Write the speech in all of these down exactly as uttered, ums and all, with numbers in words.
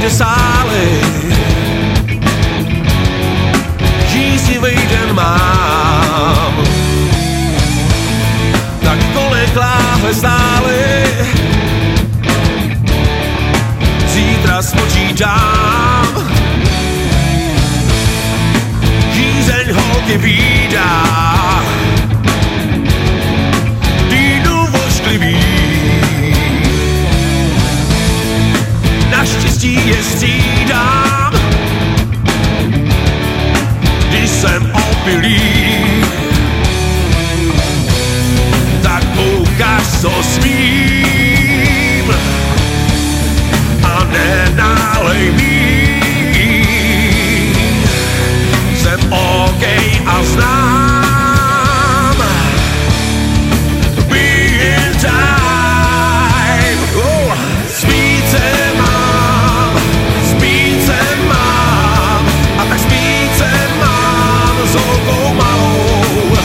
nejde sály, žíznivej den mám. Tak kolik láhve stály, zítra spočítám. Žízeň holky vídá, týdnu vošklivý. Naštěstí je střídám, když jsem opilý. Tak ukaž, co smím a nenálej míň. Jsem OK a znám being time. Oh, spíce mám, spíce mám a tak spíce mám s holkou malou.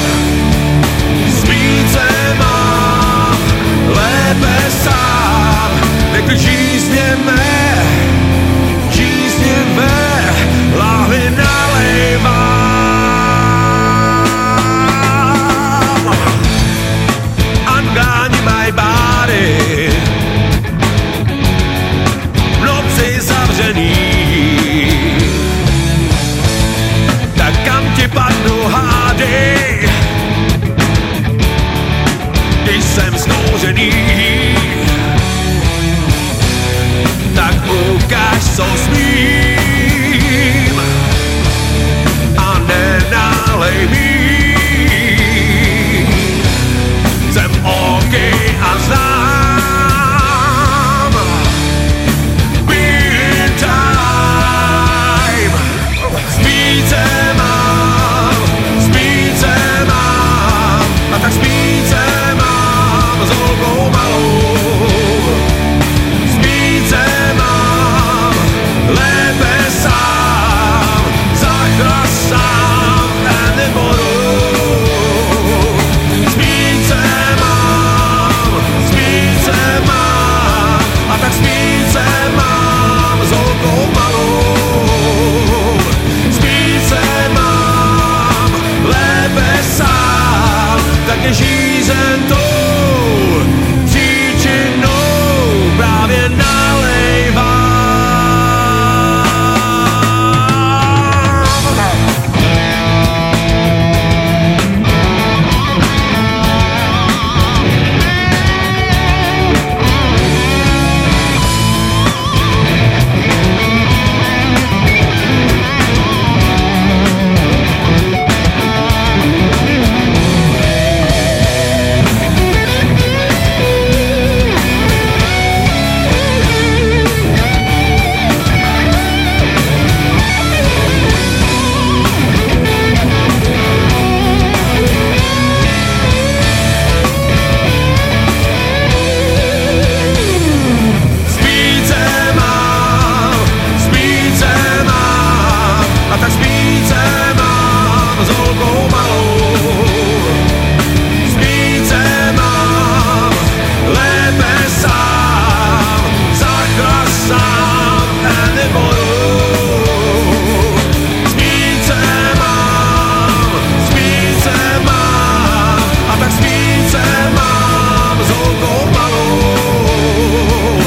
Spíce mám, lépe sám, nekdy žízně mé, žízně mé, láhvy nalejvám. Ungáni my body, v noci zavřený, tak kam ti padnu hádej, když jsem skouřený. Tak ukaž, co smím a nenálej míň. Jsem OK a znám being time. Spíce mám, spíce mám a tak spíce mám s holkou malou. Spíce mám, lépe sám, zachra sám a nebudu. Spíce mám, spíce mám a tak spíce mám s holkou malou. Spíce mám, lépe sám, tak je žízen tou příčinou právě nalejvám.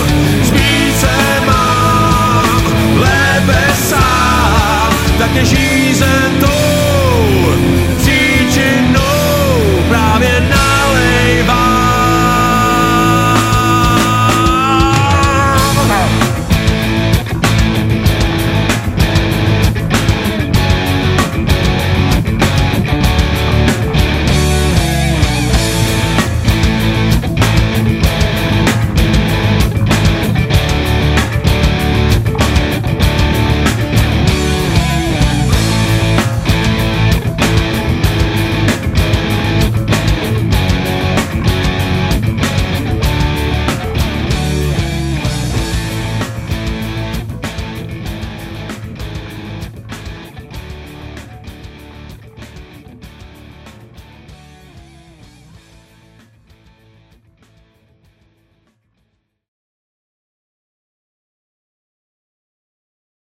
Ježíš.